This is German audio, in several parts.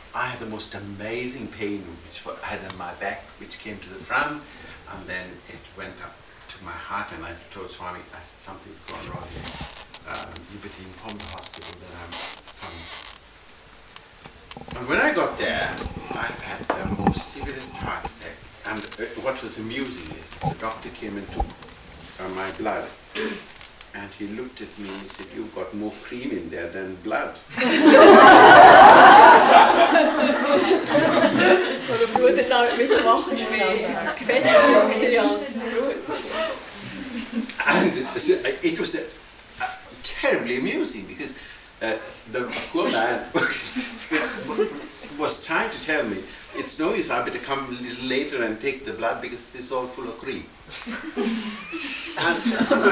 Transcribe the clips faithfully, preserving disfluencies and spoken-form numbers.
I had the most amazing pain which I had in my back, which came to the front, and then it went up to my heart, and I told Swami, I said, something's gone wrong here. Um, you better inform the hospital that I'm coming. And when I got there, I had the most severest heart attack. And uh, what was amusing is the doctor came and took uh, my blood. And he looked at me and he said, you've got more cream in there than blood. And so it was uh, uh, terribly amusing because uh, the poor man was trying to tell me, it's no use, I better come a little later and take the blood because this is all full of cream. And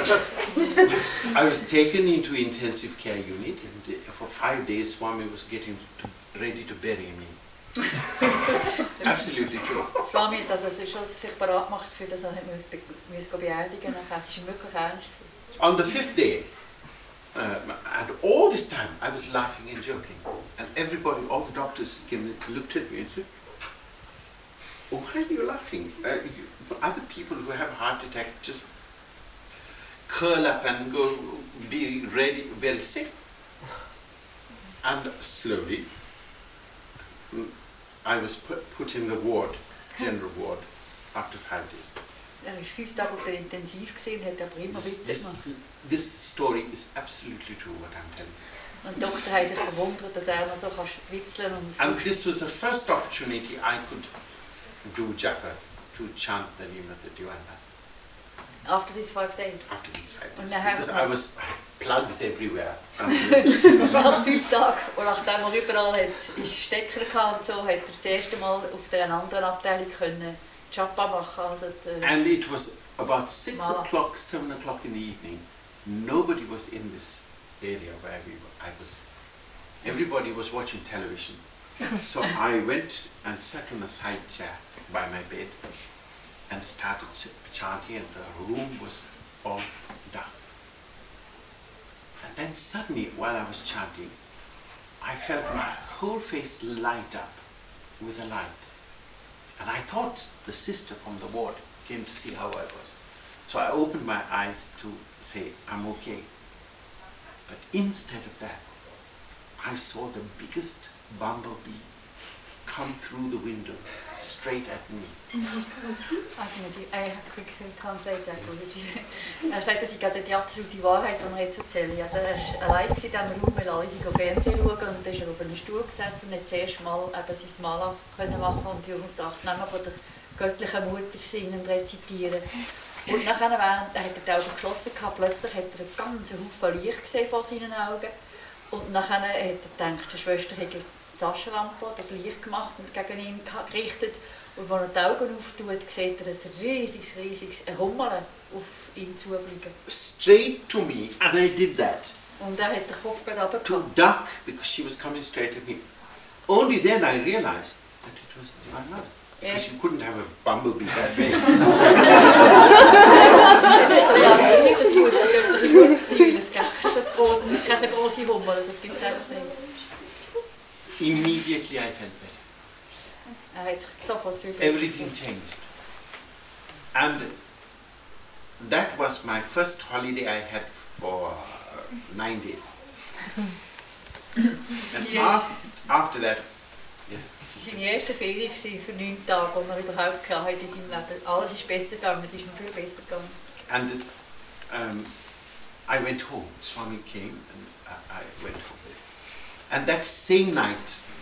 I was taken into intensive care unit, and for five days Swami was getting to, ready to bury me. Absolutely true. Swami hat also schon sich bereit gemacht, für das er müssen beerdigen musste. Es war wirklich ernst. On the fifth day, uh, and all this time I was laughing and joking, and everybody, all the doctors came and looked at me and said, oh, why are you laughing? Uh, you, other people who have heart attack just curl up and go be ready, very sick. And slowly, I was put, put in the ward, general ward, after five days. Er war fünf Tage auf der Intensiv gesehen, hat aber immer This, Witze this, gemacht. this story is absolutely true, what I'm telling you. Und die Doktor haben sich verwundert, dass er noch so kann witzeln und so. And this was the first opportunity I could do japa, to chant the name of the Divine Mother. After these five days. After these five Und days. nachher Because I was I had plugs everywhere. nach fünf Tagen, und nachdem er überall hat, ist Stecker gehabt und so, hat er das erste Mal auf der anderen Abteilung können Japa machen. Also die, And it was about six Mala. o'clock, seven o'clock in the evening. Nobody was in this area where we were. I was. Everybody was watching television. So I went and sat on a side chair by my bed and started chanting, and the room was all dark. And then suddenly, while I was chanting, I felt my whole face light up with a light. And I thought the sister from the ward came to see how I was. So I opened my eyes to say, I'm okay. But instead of that, I saw the biggest bumblebee come through the window straight at me. Also, I quick translate that. Er sagt, das ist also die absolute Wahrheit, die er jetzt erzählt. Also er war allein in diesem Raum, weil alle sich Fernsehen schauen, und dann ist er auf einem Stuhl gesessen und hat zuerst mal eben sein Mala können machen und die Namen von der göttlichen Mutter singen und rezitieren. Und nachher, während er hat die Augen geschlossen gehabt, plötzlich hat er einen ganzen Haufen Licht gesehen vor seinen Augen. Und nachher hat er gedacht, die Schwester hätte die Taschenlampe, das Licht gemacht und gegen ihn gerichtet. Und wenn er die Augen auftut, sieht er ein riesiges, riesiges Rummeln auf ihn zufliegen. Straight to me, and I did that. Und er hat den Kopf gerade To runtergehauen. duck, because she was coming straight at me. Only then I realized that it was the Divine Mother. Because Yeah. you couldn't have a bumblebee that big. Ja, nicht, das muss die göttliche Mutter sein, weil es gibt grosse, keine grosse Hummel, das gibt es einfach nicht. Immediately I felt better. Er hat sich sofort viel besser Everything gefühlt. changed. And that was my first holiday I had for uh, nine days. And Yes. af after that, yes. Seine erste Ferien war für neun Tage, wo man überhaupt keine hatte in seinem Leben. Alles ist besser gegangen, es ist noch viel besser gegangen. And um, I went home. Swami came and I, I went home. And that same night,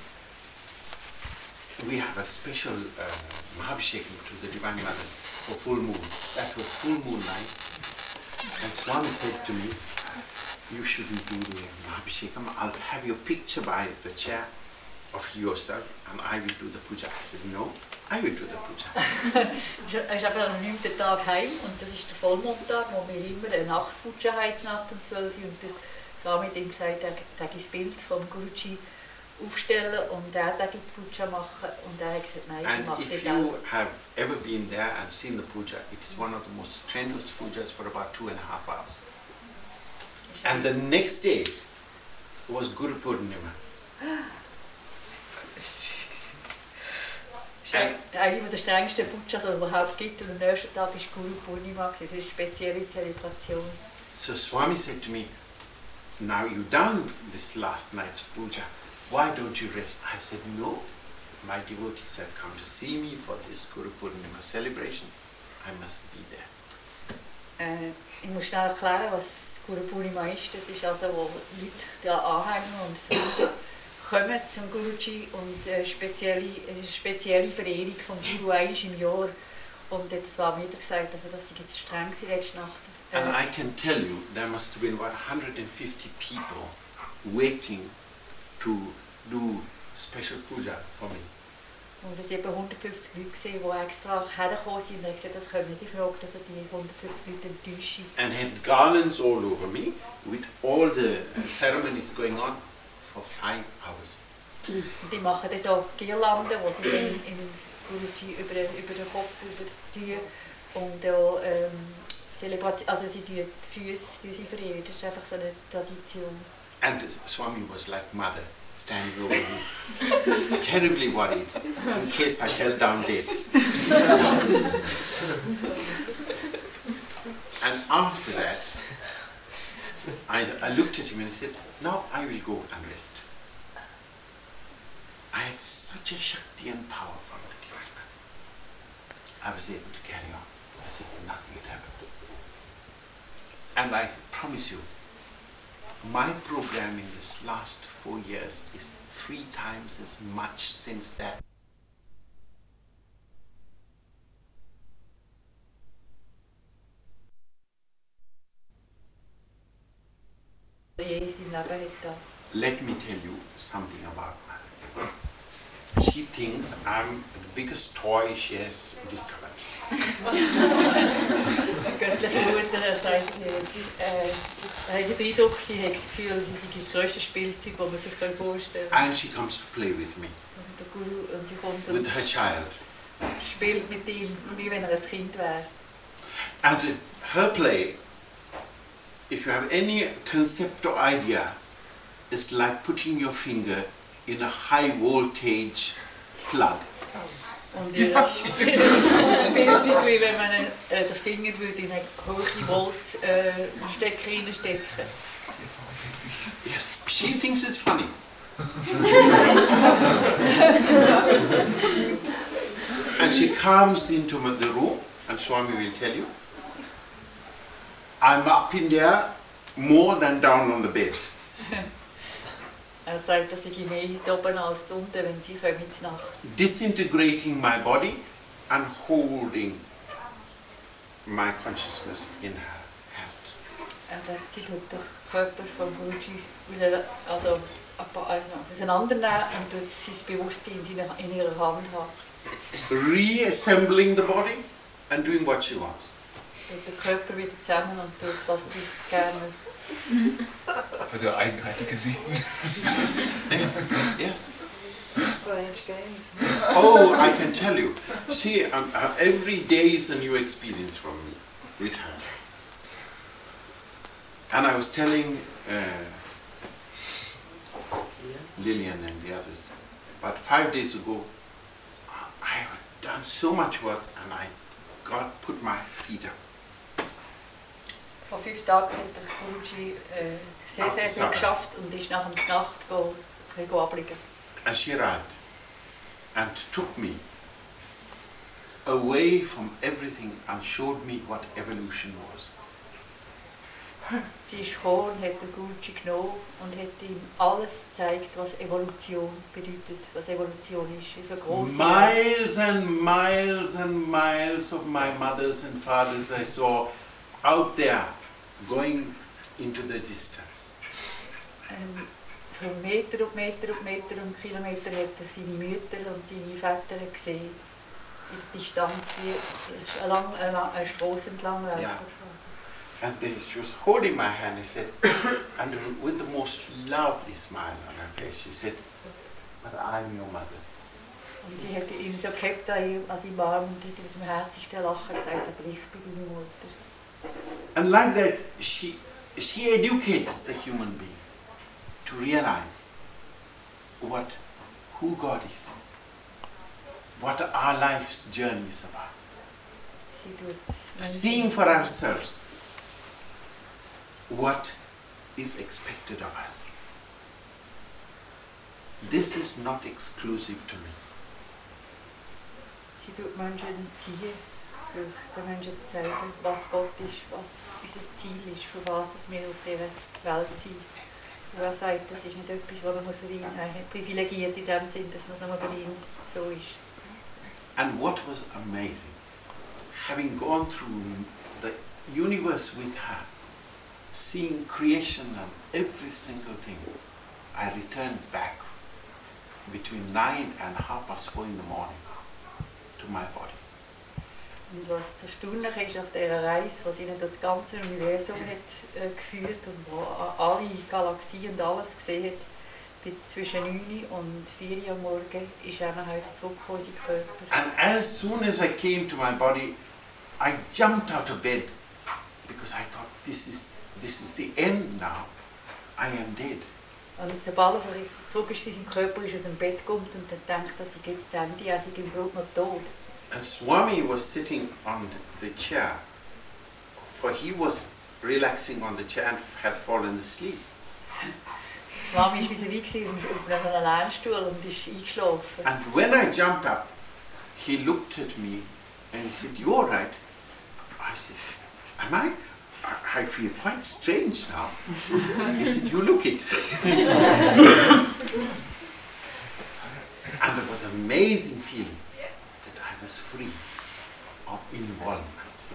we have a special uh, Mahabhishekam to the Divine Mother for full moon. That was full moon night. And Swami said to me, you shouldn't do the Mahabhishekam. I'll have your picture by the chair of yourself and I will do the puja. I said, no, I will do the puja. Er ist eben am neunten Tag heim und das ist der Vollmondtag, wo wir immer eine Nachtputsche haben, Nacht um zwölf Uhr. Und der Swami hat ihm gesagt, er darf das Bild vom Guruji aufstellen und er darf die Puja machen. Und er hat gesagt, nein, ich And mache if das you auch. have ever been there and seen the puja, it's one of the most strenuous pujas for about two and a half hours. And the next day was Guru Purnima. Eine der strengsten Pujas, die es überhaupt gibt. Und am nächsten Tag war Guru Purnima, das ist eine spezielle Zelebration. So Swami said to me, now you've done this last night's puja, why don't you rest? I said, no, my devotees have come to see me for this Guru Purnima celebration. I must be there. Äh, ich muss schnell erklären, was Guru Purnima ist. Das ist also, wo Leute, die Anhänger und Freunde kommen zum Guruji und eine spezielle, eine spezielle Verehrung vom Guru einmal im Jahr. Und das war mir wieder gesagt, also das war jetzt streng letzte Nacht. Äh, And I can tell you, there must have been about one hundred fifty people waiting to do special puja for me. Und es waren etwa hundertfünfzig Leute, die extra hergekommen sind. Und ich gesagt, das können wir nicht fragen, dass die hundertfünfzig Leute enttäuschen. And had garlands all over me, with all the uh, ceremonies going on for five hours. Und die machen dann so Girlanden, die sie dann im Guruji über, über den Kopf tun. Und auch, ähm, Zelebration, also sie tun die Füße die sie verehren. Das ist einfach so eine Tradition. And Swami was like mother, standing over me, terribly worried, in case I fell down dead. And after that, I, I looked at him and I said, now I will go and rest. I had such a Shakti and power from the Divine Mother. I was able to carry on as if nothing had happened. And I promise you, my program in this last four years is three times as much since that. Let me tell you something about her. She thinks I'm the biggest toy she has discovered. Göttliche Mutter sagt, sie hat den Eindruck, sie hat das Gefühl, sie sei das grösste Spielzeug, das man sich vorstellen kann. And she comes to play with me, Und der Guru, und sie kommt with und her child. spielt mit ihm, wie wenn er ein Kind wäre. And uh, her play, if you have any concept or idea, is like putting your finger in a high voltage plug. Und ihr Spielzeug, wie wenn man äh, den Finger in eine hohe Volt-Stecker äh, reinstecken. Yes, she thinks it's funny. And she comes into the room, and Swami will tell you, I'm up in there more than down on the bed. Er sagt, dass ich mehr oben als unten, wenn sie kommen in die Nacht. Disintegrating my body and holding my consciousness in her hand. Er sie tut den Körper vom Guruji also, auseinandernehmen und tut sein Bewusstsein in ihrer Hand haben. Reassembling the body and doing what she wants. Tut den Körper wieder zusammen und tut, was sie gerne. Also eigenartige Sitten. Yeah. Strange games. Oh, I can tell you. See, um, uh, every day is a new experience from me with her. And I was telling uh, Lillian and the others, about five days ago, I have done so much work and I got put my feet up. Vor fünf Tagen hat der Guruji äh, sehr, sehr viel geschafft und ist nach der Nacht go, go abliegen. And she arrived and took me away from everything and showed me what evolution was. Sie ist gekommen und hat den Guruji genommen und hat ihm alles gezeigt, was Evolution bedeutet, was Evolution ist. Ist eine grosse Miles and miles and miles of my mothers and fathers I saw out there, going into the distance. Ähm, für Meter und Meter und Meter und Kilometer hat er seine Mütter und seine Väter gesehen. In der Distanz wie ein, lang, ein, ein Strasse entlang. Yeah. And then she was holding my hand, he said, and with the most lovely smile on her face, she said, but I'm your mother. Und sie hat ihn so gehabt an seinem Arm und hat mit dem herzigsten Lachen gesagt, aber ich bin deine Mutter. And like that, she, she educates the human being to realize what, who God is. what our life's journey is about. Sie tut Seeing for ourselves what is expected of us. This is not exclusive to me. Sie tut Menschen ziehen, für den Menschen zu zeigen, was Gott ist, was unser Ziel ist, für was dass wir auf dieser Welt sind. Und er sagt, das ist nicht etwas, was man für ihn äh, privilegiert in dem Sinn, dass man es nur für ihn so ist. And what was amazing, having gone through the universe with her, seeing creation and every single thing, I returned back between nine and half past four in the morning to my body. Und was das Erstaunliche ist auf dieser Reise, was ihnen das ganze Universum hat äh, geführt und wo alle Galaxien und alles gesehen hat, bis zwischen neun und vier Uhr am Morgen ist er nachher zurückgekommen in seinen Körper. And as soon as I came to my body, I jumped out of bed because I thought this is this is the end now. I am dead. Und sobald er zurück ist in seinem Körper, ist er aus dem Bett gekommen und dann denkt, dass er jetzt zu Ende, er sei im Grunde noch tot. And Swami was sitting on the chair, for he was relaxing on the chair and had fallen asleep. Swami war vis-à-vis auf einem Lernstuhl und ist eingeschlafen. And when I jumped up, he looked at me and he said, "You all right?" I said, "Am I? I, I feel quite strange now." He said, "You look it." And it was an amazing feeling that I was free of involvement.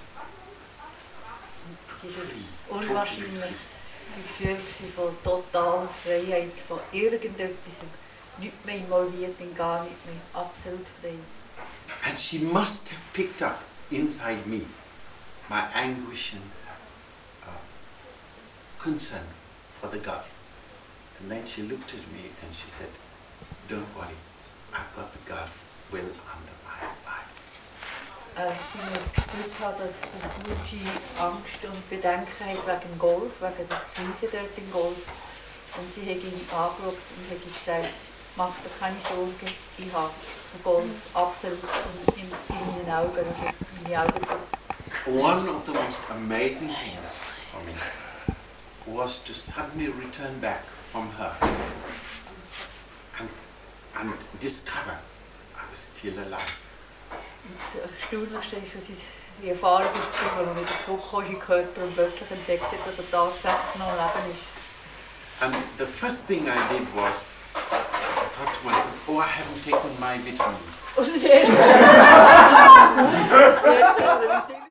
Es war ein unwahrscheinliches Gefühl von totaler Freiheit, von irgendetwas, nicht mehr involviert in gar nicht mehr, absolut frei. And she must have picked up inside me my anguish and uh, concern for the God. And then she looked at me and she said, "Don't worry, I've got the God well under my body." Äh, sie muss gespürt haben, dass sie gute Angst und Bedenken hat wegen dem Golf, wegen der Krise dort im Golf. Und sie hat ihn angeschaut und hat ihm gesagt, mach dir keine Sorgen, ich habe den Golf absolut in, in meinen Augen, also meine Augen. One of the most amazing things for me was to suddenly return back from her and, and discover I was still alive. Das Erstaunlichste ist, dass sie die Erfahrung ist, wenn man wieder zurückkommt in den Körper und plötzlich entdeckt hat, dass er tatsächlich noch am Leben ist. And the first thing I did was, I thought to myself, oh, I haven't taken my vitamins. Und das Erste, was